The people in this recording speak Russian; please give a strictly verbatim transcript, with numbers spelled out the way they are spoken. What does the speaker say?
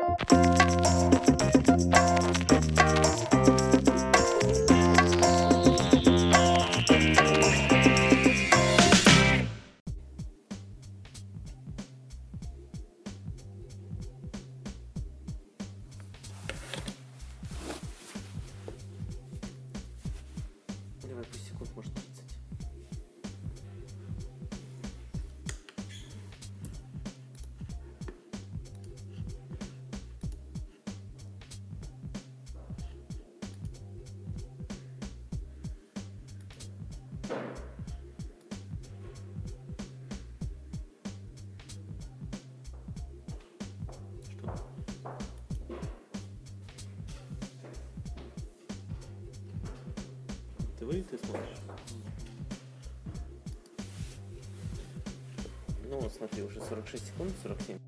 Давай, пусть секунд, может, тридцать. Ты вы, ты смотришь? Ну вот смотри, уже сорок шесть секунд, сорок семь.